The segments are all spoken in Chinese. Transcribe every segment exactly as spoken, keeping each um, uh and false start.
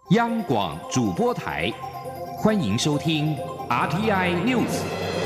央广主播台，欢迎收听 R T I News。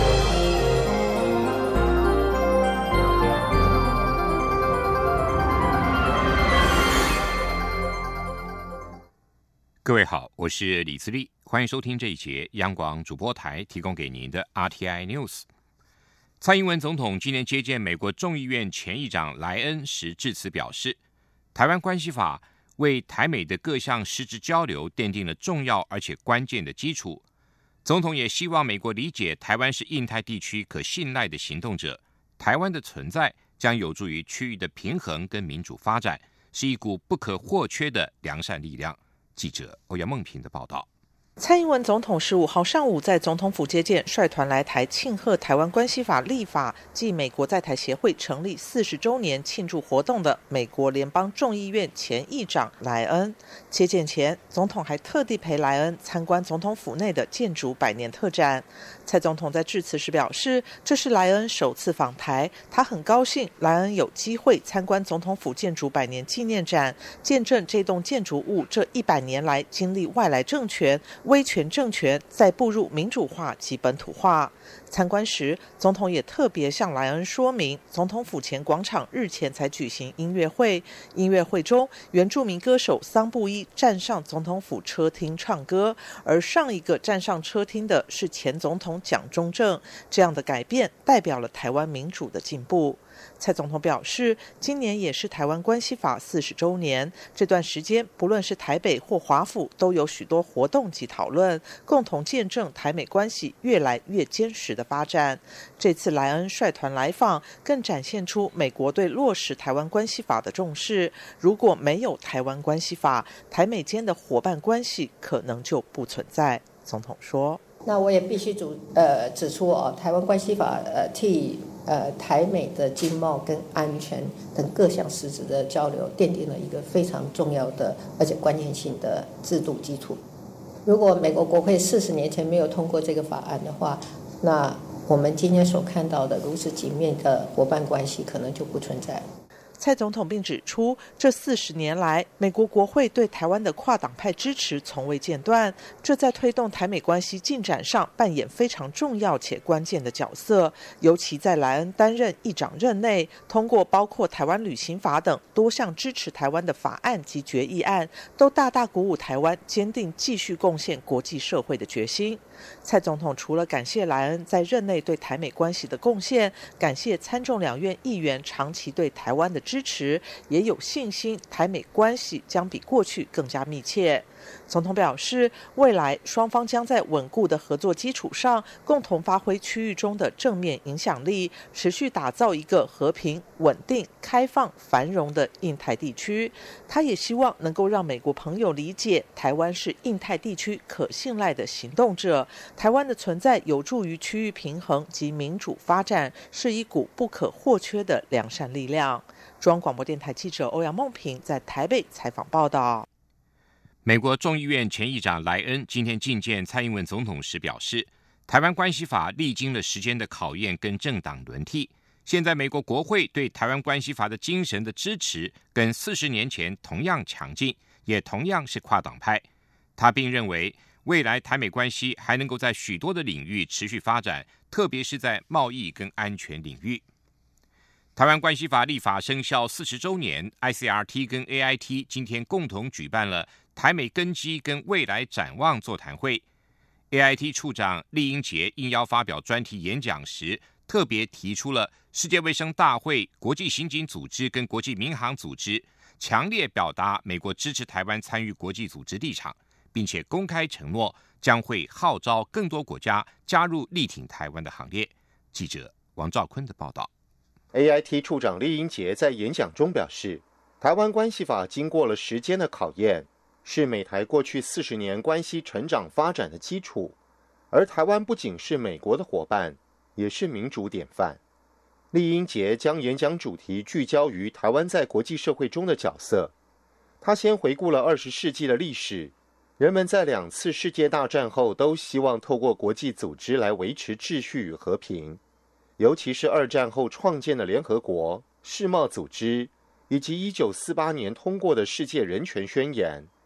各位好，我是李自立，欢迎收听这一节央广主播台提供给您的 R T I News。蔡英文总统今年接见美国众议院前议长莱恩时致辞表示，台湾关系法为台美的各项实质交流奠定了重要而且关键的基础。总统也希望美国理解台湾是印太地区可信赖的行动者，台湾的存在将有助于区域的平衡跟民主发展，是一股不可或缺的良善力量。记者欧阳梦平的报道。 蔡英文总统十五号上午在总统府接见率团来台庆贺台湾关系法立法暨美国在台协会成立四十周年庆祝活动的美国联邦众议院前议长莱恩。接见前，总统还特地陪莱恩参观总统府内的建筑百年特展。蔡总统在致辞时表示，这是莱恩首次访台，他很高兴莱恩有机会参观总统府建筑百年纪念展，见证这栋建筑物这一百年来经历外来政权威权政权再步入民主化及本土化。参观时，总统也特别向莱恩说明，总统府前广场日前才举行音乐会，音乐会中原住民歌手桑布伊站上总统府车厅唱歌，而上一个站上车厅的是前总统蒋中正。这样的改变代表了台湾民主的进步。蔡总统表示，今年也是台湾关系法四十周年，这段时间不论是台北或华府都有许多活动及讨论，共同见证台美关系越来越坚实的发展。这次莱恩率团来访，更展现出美国对落实台湾关系法的重视。如果没有台湾关系法，台美间的伙伴关系可能就不存在。总统说， 那我也必须指呃指出哦，台湾关系法呃替呃台美的经贸跟安全等各项实质的交流奠定了一个非常重要的而且关键性的制度基础。如果美国国会四十年前没有通过这个法案的话，那我们今天所看到的如此紧密的伙伴关系可能就不存在。 蔡总统并指出，这四十年来，美国国会对台湾的跨党派支持从未间断，这在推动台美关系进展上扮演非常重要且关键的角色。尤其在莱恩担任议长任内，通过包括台湾旅行法等多项支持台湾的法案及决议案，都大大鼓舞台湾坚定继续贡献国际社会的决心。蔡总统除了感谢莱恩在任内对台美关系的贡献，感谢参众两院议员长期对台湾的支持，也有信心台美关系将比过去更加密切。总统表示，未来双方将在稳固的合作基础上，共同发挥区域中的正面影响力，持续打造一个和平、稳定、开放、繁荣的印太地区。他也希望能够让美国朋友理解，台湾是印太地区可信赖的行动者，台湾的存在有助于区域平衡及民主发展，是一股不可或缺的良善力量。中央广播电台记者欧阳梦平在台北采访报道。 美国众议院前议长莱恩今天觐见蔡英文总统时表示，台湾关系法历经了时间的考验跟政党轮替，现在美国国会对台湾关系法的精神的支持跟四十年前同样强劲，也同样是跨党派。他并认为，未来台美关系还能够在许多的领域持续发展，特别是在贸易跟安全领域。台湾关系法立法生效四十周年 ，I C R T 跟 A I T 今天共同举办了台美根基跟未来展望座谈会。A I T 处长酈英杰应邀发表专题演讲时，特别提出了世界卫生大会、国际刑警组织跟国际民航组织强烈表达美国支持台湾参与国际组织立场，并且公开承诺将会号召更多国家加入力挺台湾的行列。记者王兆坤的报道。 A I T 处长酈英杰在演讲中表示，台湾关系法经过了时间的考验，是美台过去四十年关系成长发展的基础，而台湾不仅是美国的伙伴，也是民主典范。酈英杰将演讲主题聚焦于台湾在国际社会中的角色。他先回顾了二十世纪的历史，人们在两次世界大战后都希望透过国际组织来维持秩序与和平，尤其是二战后创建的联合国、世贸组织，以及一九四八年通过的世界人权宣言。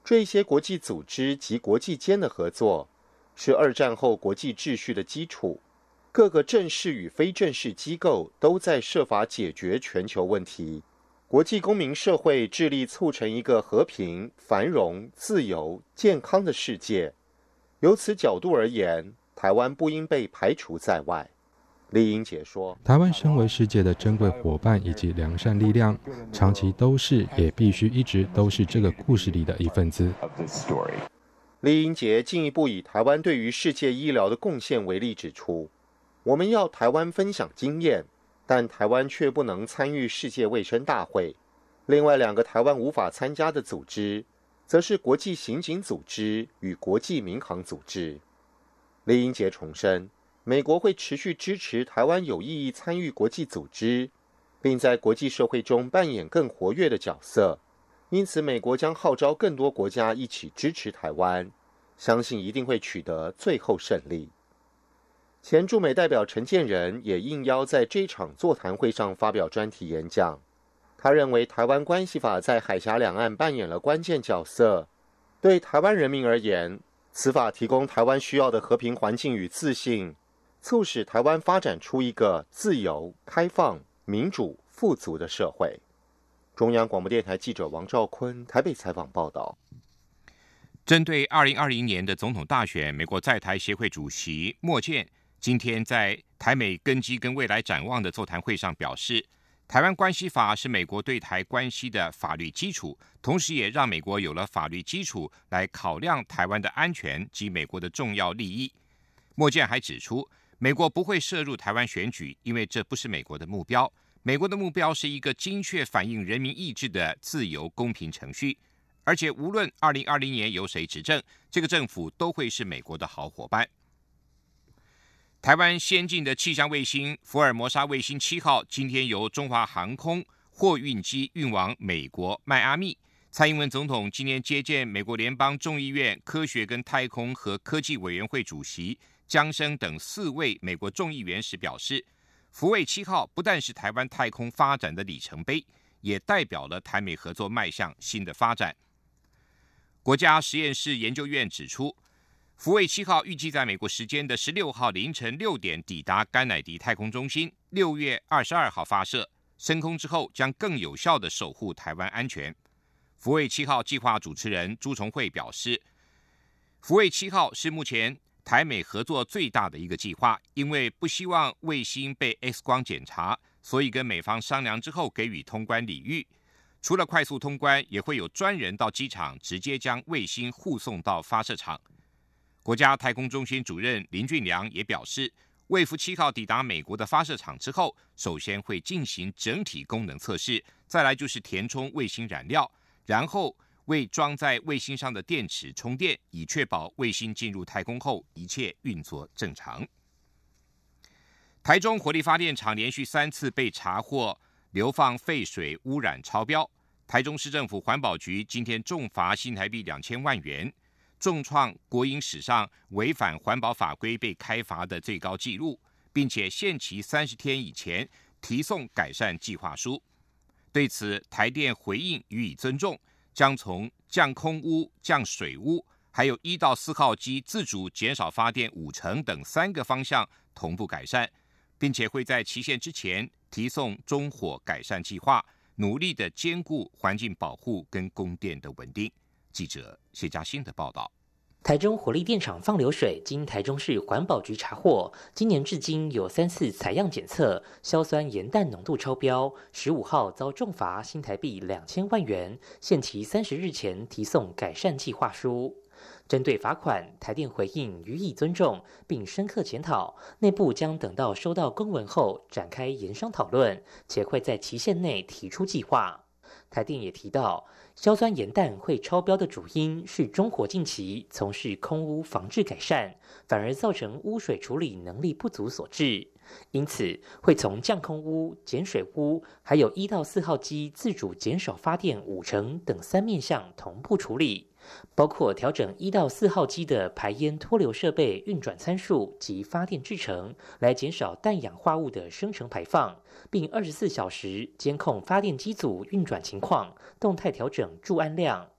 这些国际组织及国际间的合作是二战后国际秩序的基础，各个正式与非正式机构都在设法解决全球问题。国际公民社会致力促成一个和平、繁荣、自由、健康的世界。由此角度而言，台湾不应被排除在外。李英杰说， 台湾身为世界的珍贵伙伴以及良善力量，长期都是也必须一直都是这个故事里的一份子。 李英杰进一步以台湾对于世界医疗的贡献为例指出，我们要台湾分享经验，但台湾却不能参与世界卫生大会。另外两个台湾无法参加的组织，则是国际刑警组织与国际民航组织。李英杰重申，美国会持续支持台湾有意义参与国际组织，并在国际社会中扮演更活跃的角色。因此，美国将号召更多国家一起支持台湾，相信一定会取得最后胜利。前驻美代表陈建仁也应邀在这场座谈会上发表专题演讲。他认为台湾关系法在海峡两岸扮演了关键角色，对台湾人民而言，此法提供台湾需要的和平环境与自信，促使台湾发展出一个自由、开放、民主、富足的社会。中央广播电台记者王兆坤台北采访报道。 针对二零二零年的总统大选，美国在台协会主席莫健今天在台美根基跟未来展望的座谈会上表示，台湾关系法是美国对台关系的法律基础，同时也让美国有了法律基础来考量台湾的安全及美国的重要利益。莫健还指出，美国不会涉入台湾选举，因为这不是美国的目标。美国的目标是一个精确反映人民意志的自由公平程序，而且无论二零二零年由谁执政，这个政府都会是美国的好伙伴。台湾先进的气象卫星福尔摩沙卫星七号今天由中华航空货运机运往美国迈阿密。蔡英文总统今天接见美国联邦众议院科学跟太空和科技委员会主席江生等四位美国众议员时表示，福卫七号不但是台湾太空发展的里程碑，也代表了台美合作迈向新的发展。国家实验室研究院指出，福卫七号预计在美国时间的十六号凌晨六点抵达甘乃迪太空中心，六月二十二号发射，升空之后将更有效地守护台湾安全。福卫七号计划主持人朱崇慧表示，福卫七号是目前台美合作最大的一个计划，因为不希望卫星被 X 光检查，所以跟美方商量之后给予通关礼遇。除了快速通关，也会有专人到机场直接将卫星护送到发射场。国家太空中心主任林俊良也表示，卫福七号抵达美国的发射场之后，首先会进行整体功能测试，再来就是填充卫星燃料，然后为装在卫星上的电池充电，以确保卫星进入太空后一切运作正常。台中火力发电厂连续三次被查获流放废水污染超标，台中市政府环保局今天重罚新台币两千万元，重创国营史上违反环保法规被开罚的最高纪录，并且限期三十天以前提送改善计划书。对此，台电回应予以尊重，将从降空污、降水污，还有一到四号机自主减少发电五成等三个方向同步改善，并且会在期限之前提送中火改善计划，努力的兼顾环境保护跟供电的稳定。记者谢嘉欣的报道。 台中火力电厂放流水经台中市环保局查获，今年至今有三次采样检测，硝酸盐氮浓度超标，十五号遭重罚新台币两千万元，限期三十日前提送改善计划书。针对罚款，台电回应予以尊重，并深刻检讨，内部将等到收到公文后展开研商讨论，且会在期限内提出计划。台电也提到，硝酸盐氮会超标的主因是中火近期从事空污防治改善，反而造成污水处理能力不足所致，因此会从降空污、减水污，还有一到四号机自主减少发电五成等三面向同步处理，包括调整一到四号机的排烟脱流设备运转参数及发电制程，来减少氮氧化物的生成排放，并二十四小时监控发电机组运转情况，动态调整注氨量。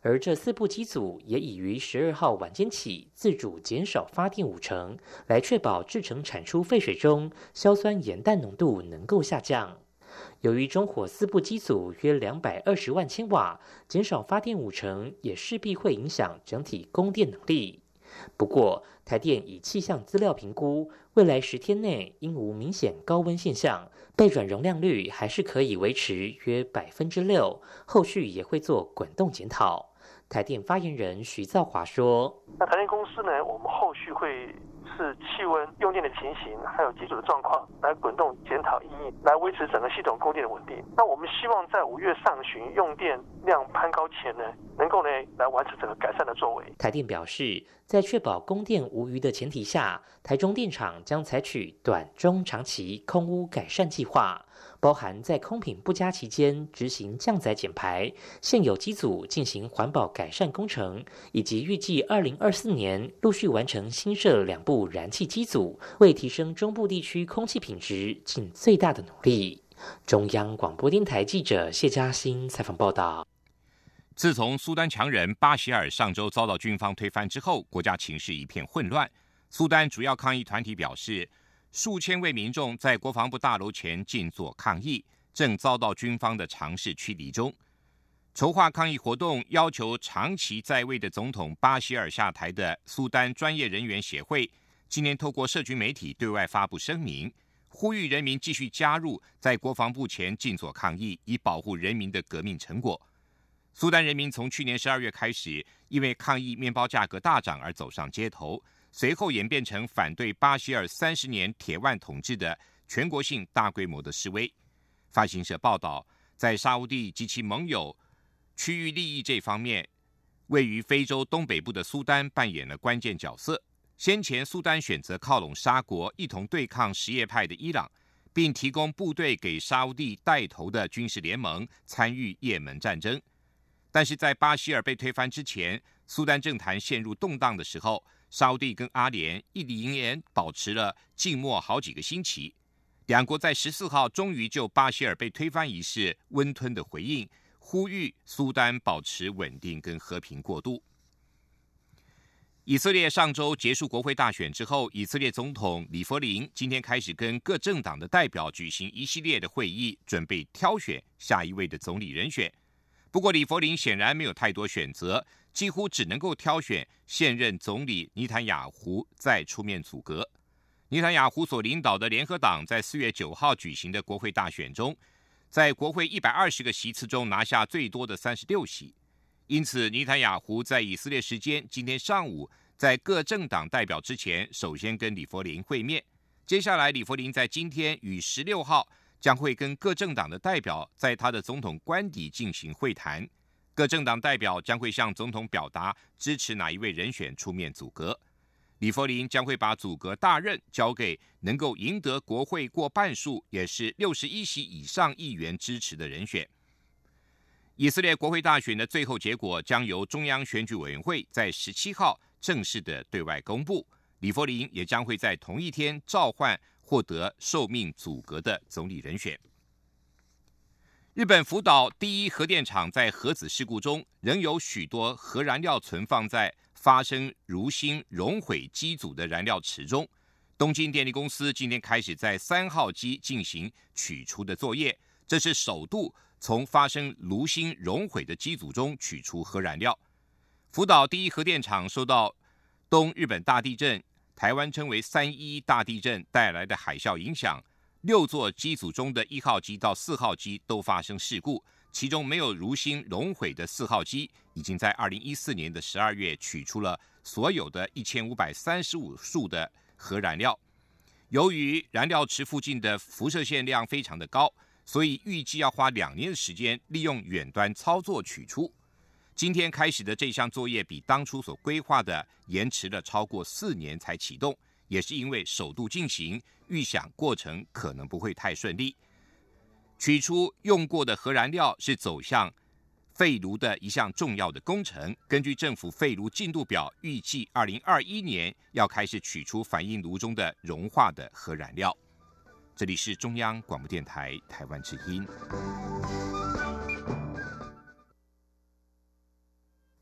而这四部机组也已于十二号晚间起自主减少发电五成，来确保制成产出废水中硝酸盐氮浓度能够下降。由于中火四部机组约两百二十万千瓦，减少发电五成，也势必会影响整体供电能力。不过，台电以气象资料评估，未来十天内应无明显高温现象，备转容量率还是可以维持约百分之六，后续也会做滚动检讨。台电发言人徐造华说：“ 那台电公司呢，我们后续会是气温、用电的情形，还有机组的状况，来滚动检讨因应，来维持整个系统供电的稳定。那我们希望在五月上旬用电量攀高前呢，能够呢来完成整个改善的作为。” 台电表示，在确保供电无虞的前提下，台中电厂将采取短、中、长期空污改善计划，包含在空品不佳期间执行降载减排，现有机组进行环保改善工程，以及预计二零二四年陆续完成新设两部燃气机组，为提升中部地区空气品质尽最大的努力。中央广播电台记者谢嘉欣采访报道。 自从苏丹强人巴希尔上周遭到军方推翻之后，国家情势一片混乱。苏丹主要抗议团体表示，数千位民众在国防部大楼前静坐抗议，正遭到军方的尝试驱离中。筹划抗议活动要求长期在位的总统巴希尔下台的苏丹专业人员协会，今年透过社群媒体对外发布声明，呼吁人民继续加入在国防部前静坐抗议，以保护人民的革命成果。苏丹人民从去年十二月开始，因为抗议面包价格大涨而走上街头，随后演变成反对巴希尔三十年铁腕统治的全国性大规模的示威。法新社报道，在沙烏地及其盟友区域利益这方面，位于非洲东北部的苏丹扮演了关键角色。先前苏丹选择靠拢沙国，一同对抗什叶派的伊朗，并提供部队给沙烏地带头的军事联盟参与也门战争。但是在巴希尔被推翻之前，苏丹政坛陷入动荡的时候，沙烏地跟阿联一连连保持了静默好几个星期。两国在十四号终于就巴希尔被推翻一事温吞的回应，呼吁苏丹保持稳定跟和平过渡。以色列上周结束国会大选之后，以色列总统里弗林今天开始跟各政党的代表举行一系列的会议，准备挑选下一位的总理人选。不过里弗林显然没有太多选择，几乎只能够挑选现任总理尼坦雅胡再出面阻隔。尼坦雅胡所领导的联合党在四月九号举行的国会大选中，在国会一百二十个席次中拿下最多的三十六席。因此尼坦雅胡在以色列时间今天上午在各政党代表之前，首先跟里弗林会面。接下来里弗林在今天与十六号将会跟各政党的代表在他的总统官邸进行会谈，各政党代表将会向总统表达支持哪一位人选出面阻隔。里弗林将会把阻隔大任交给能够赢得国会过半数，也是六十一席以上议员支持的人选。以色列国会大选的最后结果将由中央选举委员会在十七号正式的对外公布，里弗林也将会在同一天召唤获得受命阻隔的总理人选。日本福岛第一核电厂在核子事故中，仍有许多核燃料存放在发生炉芯熔毁机组的燃料池中。东京电力公司今天开始在三号机进行取出的作业，这是首度从发生炉芯熔毁的机组中取出核燃料。福岛第一核电厂受到东日本大地震，台湾称为三一大地震带来的海啸影响，六座机组中的一号机到四号机都发生事故，其中没有炉芯熔毁的四号机已经在二零一四年的十二月取出了所有的一千五百三十五束的核燃料。由于燃料池附近的辐射线量非常的高，所以预计要花两年的时间利用远端操作取出。今天开始的这项作业比当初所规划的延迟了超过四年才启动，也是因为首度进行，预想过程可能不会太顺利。取出用过的核燃料是走向废炉的一项重要的工程。根据政府废炉进度表，预计二零二一年要开始取出反应炉中的融化的核燃料。这里是中央广播电台台湾之音。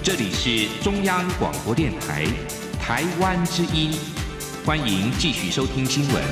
这里是中央广播电台台湾之音，欢迎继续收听新闻。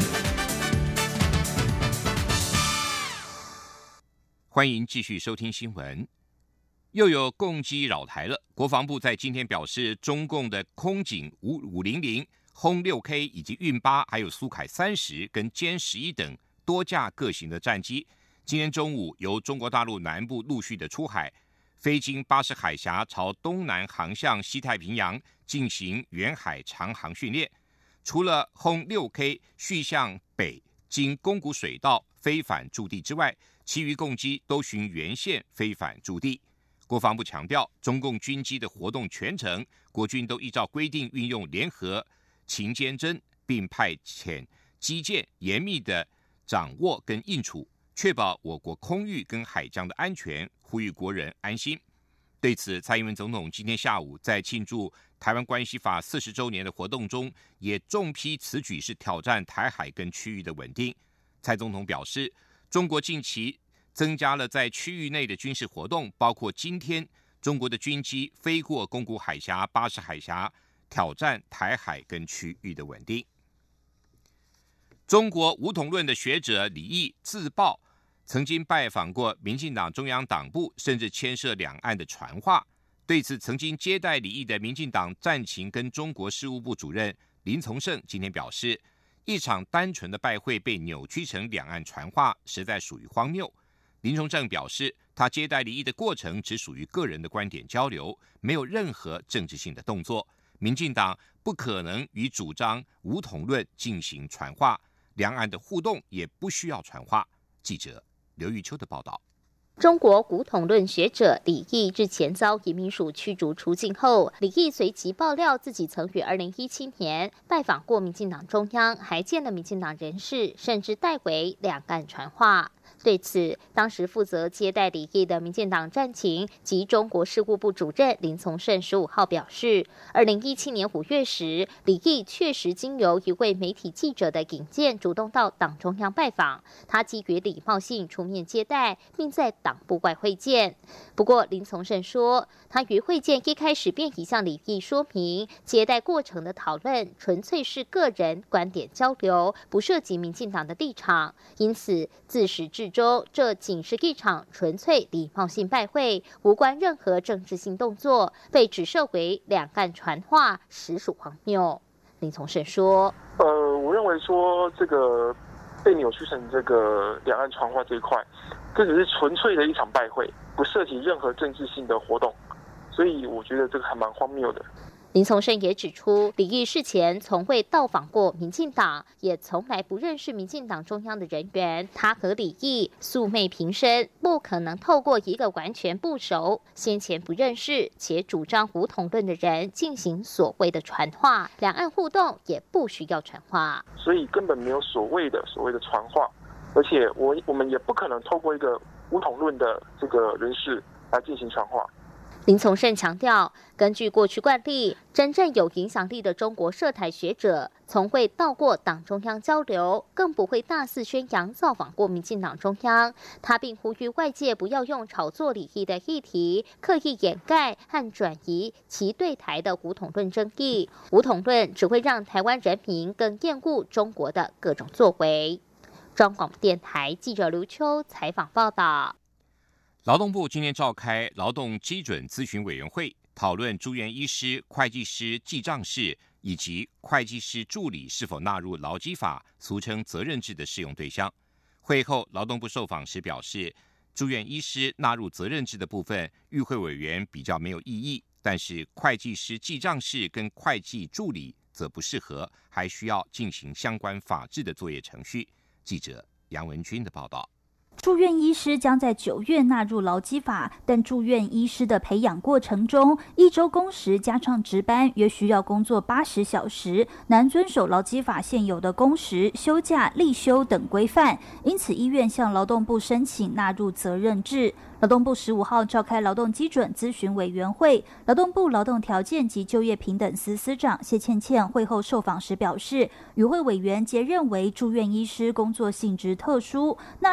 欢迎继续收听新闻。又有共机扰台了。国防部在今天表示，中共的空警五五零零、轰六 K 以及运八，还有苏凯三十跟歼十一等多架各型的战机，今天中午由中国大陆南部陆续的出海，飞经巴士海峡，朝东南航向西太平洋进行远海长航训练。除了轰六 K 续向北经宫古水道飞返驻地之外，其余共机都循原线飞返驻地。国防部强调，中共军机的活动全程，国军都依照规定运用联合勤监侦，并派遣机舰严密的掌握跟应处，确保我国空域跟海疆的安全，呼吁国人安心。对此，蔡英文总统今天下午在庆祝台湾关系法四十周年的活动中，也重批此举是挑战台海跟区域的稳定。蔡总统表示，中国近期增加了在区域内的军事活动，包括今天中国的军机飞过宫古海峡、巴士海峡，挑战台海跟区域的稳定。中国武统论的学者李毅自曝曾经拜访过民进党中央党部，甚至牵涉两岸的传话。对此，曾经接待李毅的民进党战情跟中国事务部主任林从胜今天表示，一场单纯的拜会被扭曲成两岸传话，实在属于荒谬。林从胜表示，他接待李毅的过程只属于个人的观点交流，没有任何政治性的动作。民进党不可能与主张武统论进行传话，两岸的互动也不需要传话。记者刘玉秋的报道。 中国古统论学者李毅日前遭移民署驱逐出境后，李毅随即爆料自己曾于二零一七年拜访过民进党中央，还见了民进党人士，甚至代为两岸传话。对此，当时负责接待李毅的民进党战情及中国事务部主任林从胜十五号表示，二零一七年五月时，李毅确实经由一位媒体记者的引荐，主动到党中央拜访，他基于礼貌性出面接待，并在党部外会见。不过，林从胜说，他于会见一开始便已向李毅说明，接待过程的讨论纯粹是个人观点交流，不涉及民进党的立场，因此自始至终，这仅是一场纯粹礼貌性拜会，无关任何政治性动作，被指涉为两岸传话，实属荒谬。林从胜说：“ 呃，我认为说这个被扭曲成这个两岸传话这一块，这只是纯粹的一场拜会，不涉及任何政治性的活动，所以我觉得这个还蛮荒谬的。” 林从胜也指出，李毅事前从未到访过民进党，也从来不认识民进党中央的人员。他和李毅素昧平生，不可能透过一个完全不熟、先前不认识且主张武统论的人进行所谓的传话。两岸互动也不需要传话， 所以根本没有所谓的所谓的传话，而且我我们也不可能透过一个武统论的这个人士来进行传话。 林从胜强调，根据过去惯例，真正有影响力的中国涉台学者从未到过党中央交流，更不会大肆宣扬造访过民进党中央。他并呼吁外界不要用炒作李毅的议题，刻意掩盖和转移其对台的武统论争议。武统论只会让台湾人民更厌恶中国的各种作为。中央广播电台记者刘秋采访报道。 劳动部今天召开劳动基准咨询委员会，讨论住院医师、会计师、记账士以及会计师助理是否纳入劳基法俗称责任制的适用对象。会后，劳动部受访时表示，住院医师纳入责任制的部分，与会委员比较没有异议，但是会计师、记账士跟会计助理则不适合，还需要进行相关法制的作业程序。记者杨文君的报道。 住院医师将在九月纳入劳基法，但住院医师的培养过程中，一周工时加上值班，约需要工作八十小时，难遵守劳基法现有的工时、休假、例休等规范，因此医院向劳动部申请纳入责任制。劳动部十五号召开劳动基准咨询委员会，劳动部劳动条件及就业平等司司长谢倩倩会后受访时表示，与会委员皆认为住院医师工作性质特殊，纳入责任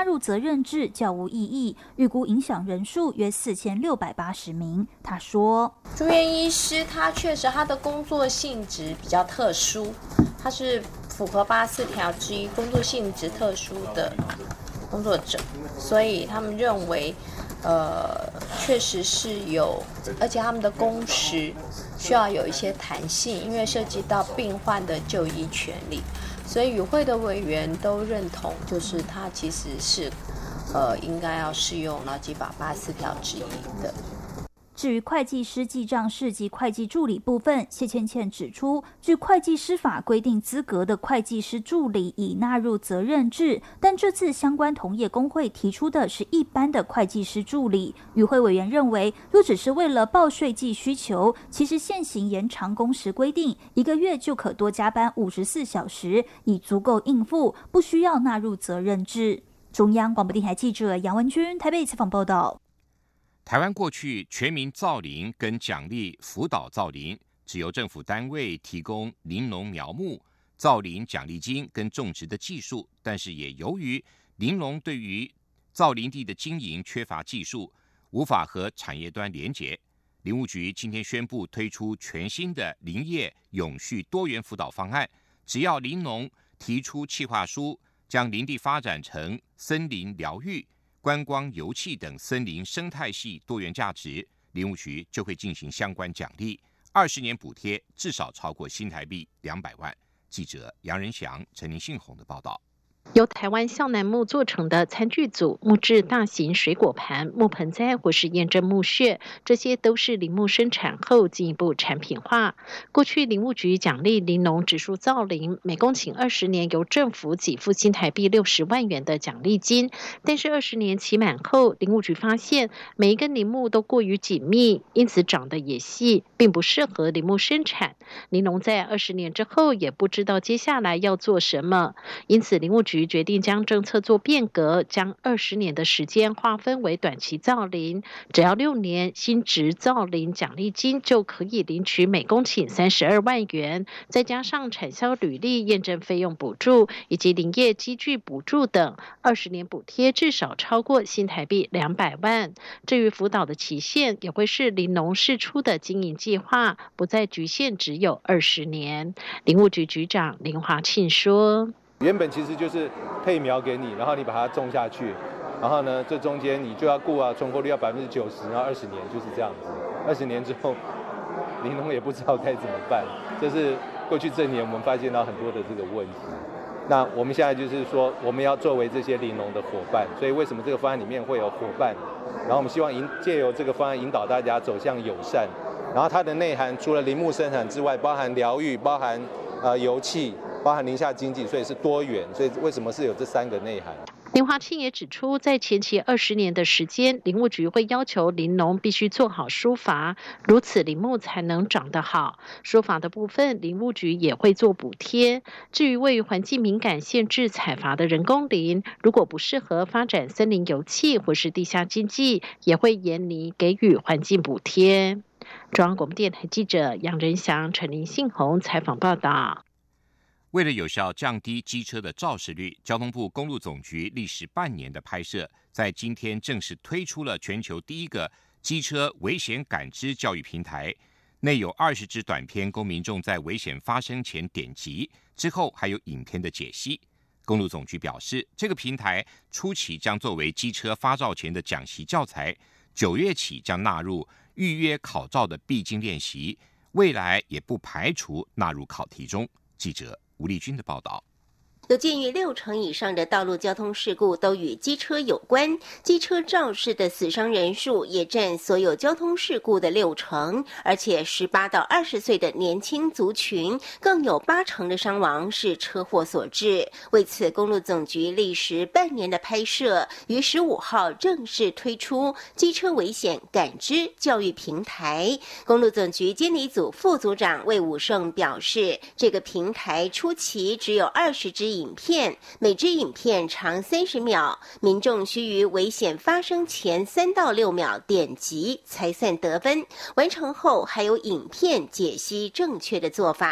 任制较无意义，预估影响人数约四千六百八十名。他说， 住院医师他确实他的工作性质比较特殊，他是符合八十四条之一工作性质特殊的工作者，所以他们认为呃，确实是有，而且他们的工时需要有一些弹性，因为涉及到病患的就医权利，所以与会的委员都认同，就是他其实是呃应该要适用劳基法八十四条之一的。 至于会计师记账士及会计助理部分，谢倩倩指出，据会计师法规定资格的会计师助理已纳入责任制，但这次相关同业工会提出的是一般的会计师助理。与会委员认为，若只是为了报税季需求，其实现行延长工时规定，一个月就可多加班五十四小时，已足够应付，不需要纳入责任制。中央广播电台记者杨文君台北采访报道。 台湾过去全民造林跟奖励辅导造林，只由政府单位提供林农苗木、造林奖励金跟种植的技术，但是也由于林农对于造林地的经营缺乏技术，无法和产业端连结。林务局今天宣布推出全新的林业永续多元辅导方案，只要林农提出企划书，将林地发展成森林疗愈、观光、油气等森林生态系多元价值，林务局就会进行相关奖励，二十年补贴至少超过新台币两百万。记者杨仁祥、陈林信宏的报道。 由台湾向南木做成的餐具组、木质大型水果盘、木盆栽或是验证木屑，这些都是林木生产后进一步产品化。过去林务局奖励林农植树造林，每公顷二十年由政府给付新台币六十万元的奖励金，但是二十年期满后，林务局发现每一根林木都过于紧密，因此长得也细，并不适合林木生产。林农在二十年之后也不知道接下来要做什么，因此林务局决定将政策做变革，将二十年的时间划分为短期造林，只要六年新植造林奖励金就可以领取每公顷三十二万元，再加上产销履历验证费用补助以及林业机具补助等，二十年补贴至少超过新台币两百万。至于辅导的期限，也会是林农释出的经营计划，不再局限只有二十年。林务局局长林华庆说， 原本其实就是配苗给你，然后你把它种下去，然后呢，这中间你就要顾啊，存活率要百分之九十，然后二十年就是这样子。二十年之后，林农也不知道该怎么办。这是过去这年我们发现到很多的这个问题。那我们现在就是说，我们要作为这些林农的伙伴，所以为什么这个方案里面会有伙伴？然后我们希望引借由这个方案引导大家走向友善。然后它的内涵除了林木生产之外，包含疗愈，包含呃油气，包含林下经济，所以是多元。所以为什么是有这三个内涵？ 林华庆也指出，在前期二十年的时间，林务局会要求林农必须做好疏伐，如此林木才能长得好。疏伐的部分，林务局也会做补贴。至于位于环境敏感限制采伐的人工林，如果不适合发展森林油气或是地下经济，也会严厉给予环境补贴。中央广播电台记者杨仁祥、陈林信宏采访报道。 为了有效降低机车的肇事率，交通部公路总局历时半年的拍摄，在今天正式推出了全球第一个机车危险感知教育平台，内有二十支短片供民众在危险发生前点击，之后还有影片的解析。公路总局表示，这个平台初期将作为机车发照前的讲习教材，九月起将纳入预约考照的必经练习，未来也不排除纳入考题中。记者吴丽君的报道。 有鉴于六成以上的道路交通事故都与机车有关，机车肇事的死伤人数也占所有交通事故的六成，而且十八到二十岁的年轻族群更有八成的伤亡是车祸所致。为此，公路总局历时半年的拍摄，于十五号正式推出机车危险感知教育平台。公路总局监理组副组长魏武胜表示，这个平台初期只有二十支影片，每支影片长三十秒，民众需于危险发生前三到六秒点击才算得分，完成后还有影片解析正确的做法。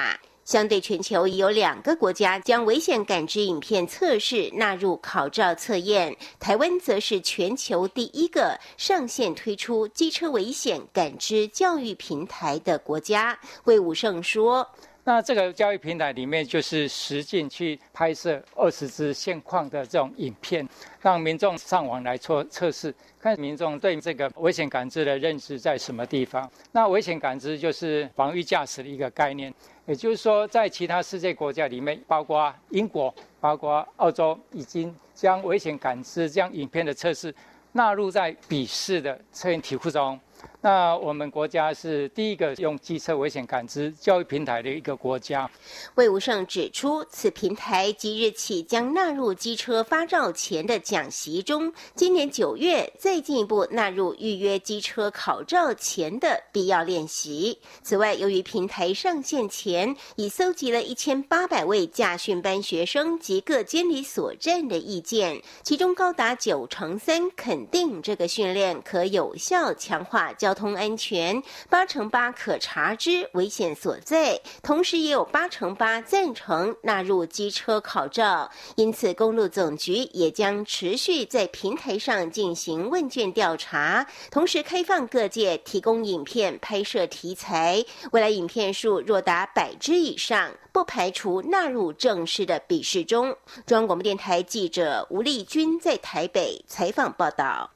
相对全球已有两个国家将危险感知影片测试纳入考照测验，台湾则是全球第一个上线推出机车危险感知教育平台的国家。魏武胜说， 那这个教育平台里面就是实境去拍摄二十支现况的这种影片，让民众上网来做测试，看民众对这个危险感知的认知在什么地方。那危险感知就是防御驾驶的一个概念，也就是说在其他世界国家里面，包括英国、包括澳洲，已经将危险感知这样影片的测试纳入在笔试的测验题库中。那我们国家是第一个用机车危险感知教育平台的一个国家。 魏武胜指出，此平台即日起将纳入机车发照前的讲习中，今年九月再进一步纳入预约机车考照前的必要练习。此外，由于平台上线前已搜集了一千八百位驾训班学生及各监理所站的意见，其中高达九成三肯定这个训练可有效强化交通安全，八成八可查知危险所在，同时也有八成八赞成纳入机车考照。因此，公路总局也将持续在平台上进行问卷调查，同时开放各界提供影片拍摄题材。未来影片数若达百支以上，不排除纳入正式的笔试中。中央广播电台记者吴丽君在台北采访报道。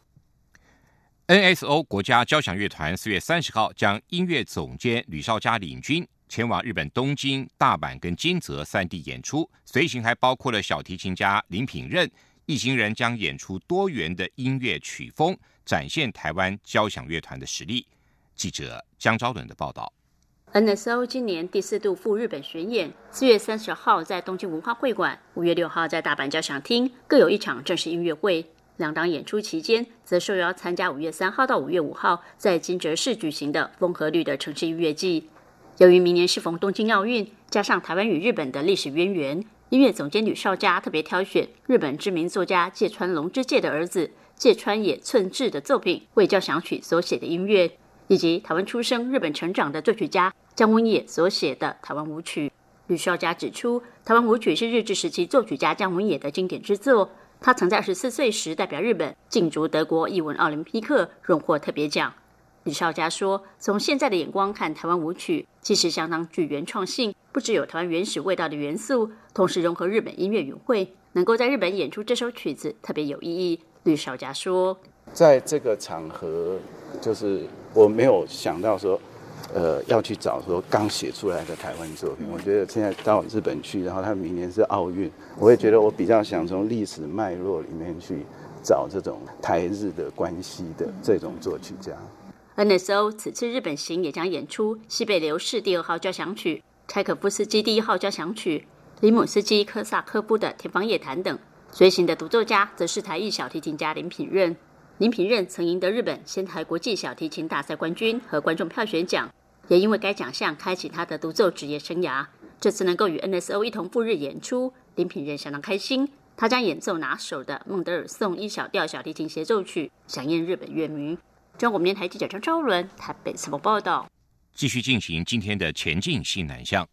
N S O 国家交响乐团四月三十号将音乐总监吕绍嘉领军前往日本东京、大阪跟金泽三地演出，随行还包括了小提琴家林品任。一行人将演出多元的音乐曲风，展现台湾交响乐团的实力。记者江昭伦的报道。 N S O 今年第四度赴日本巡演，四月三十号在东京文化会馆，五月六号在大阪交响厅各有一场正式音乐会。两档演出期间，则受邀参加五月三号到五月五号在金泽市举行的风和绿的城市音乐季。由于明年适逢东京奥运，加上台湾与日本的历史渊源，音乐总监吕绍嘉特别挑选日本知名作家芥川龙之介的儿子芥川野寸志的作品为交响曲所写的音乐，以及台湾出生、日本成长的作曲家江文野所写的台湾舞曲。吕绍嘉指出，台湾舞曲是日治时期作曲家江文野的经典之作。他曾在二十四岁时代表日本竞逐德国艺文奥林匹克，荣获特别奖。吕绍嘉说，从现在的眼光看，台湾舞曲其实相当具原创性，不只有台湾原始味道的元素，同时融合日本音乐语汇，能够在日本演出这首曲子特别有意义。吕绍嘉说， 在这个场合，就是我没有想到说呃，要去找说刚写出来的台湾作品。我觉得现在到日本去，然后他明年是奥运，我也觉得我比较想从历史脉络里面去找这种台日的关系的这种作曲家。 N S O 此次日本行也将演出西北流士第二号交响曲、柴可夫斯基第一号交响曲、里姆斯基科萨科夫的《天方夜谭》等。随行的独奏家则是台裔小提琴家林品任。林品任曾赢得日本仙台国际小提琴大赛冠军和观众票选奖，也因为该奖项开启他的独奏职业生涯。这次能够与 N S O 一同赴日演出，林品任相当开心。他将演奏拿手的孟德尔颂一小调小提琴协奏曲，响应日本乐迷。中国电台记者张昭伦台北采访报道。 继续进行今天的前进新南向。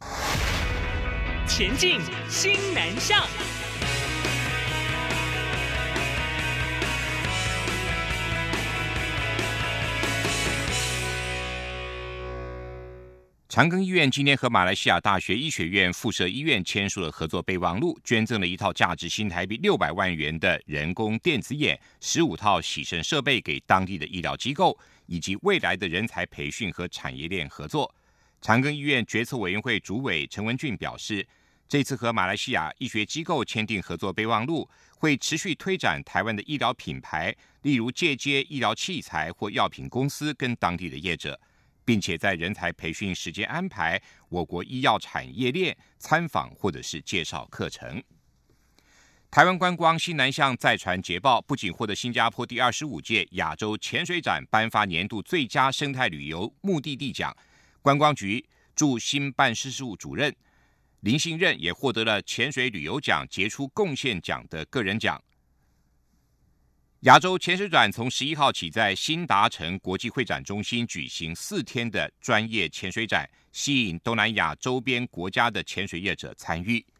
前进新南向。 长庚医院今天和马来西亚大学医学院附设医院签署了合作备忘录，捐赠了一套价值新台币六百万元的人工电子眼、十五套洗肾设备给当地的医疗机构，以及未来的人才培训和产业链合作。长庚医院决策委员会主委陈文俊表示，这次和马来西亚医学机构签订合作备忘录，会持续推展台湾的医疗品牌，例如借接医疗器材或药品公司跟当地的业者，并且在人才培训时间安排我国医药产业链参访或者是介绍课程。台湾观光新南向再传捷报，不仅获得新加坡第二十五届亚洲潜水展颁发年度最佳生态旅游目的地奖，观光局驻新办事处主任林信任也获得了潜水旅游奖杰出贡献奖的个人奖。 亚洲潜水展从十一号起在新达城国际会展中心举行四天的专业潜水展，吸引东南亚周边国家的潜水业者参与。